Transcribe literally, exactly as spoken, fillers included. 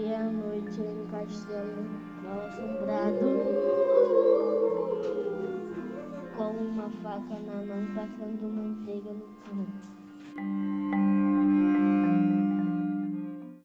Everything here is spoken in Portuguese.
Passei a noite em um castelo mal assombrado, com uma faca na mão, passando manteiga no pão.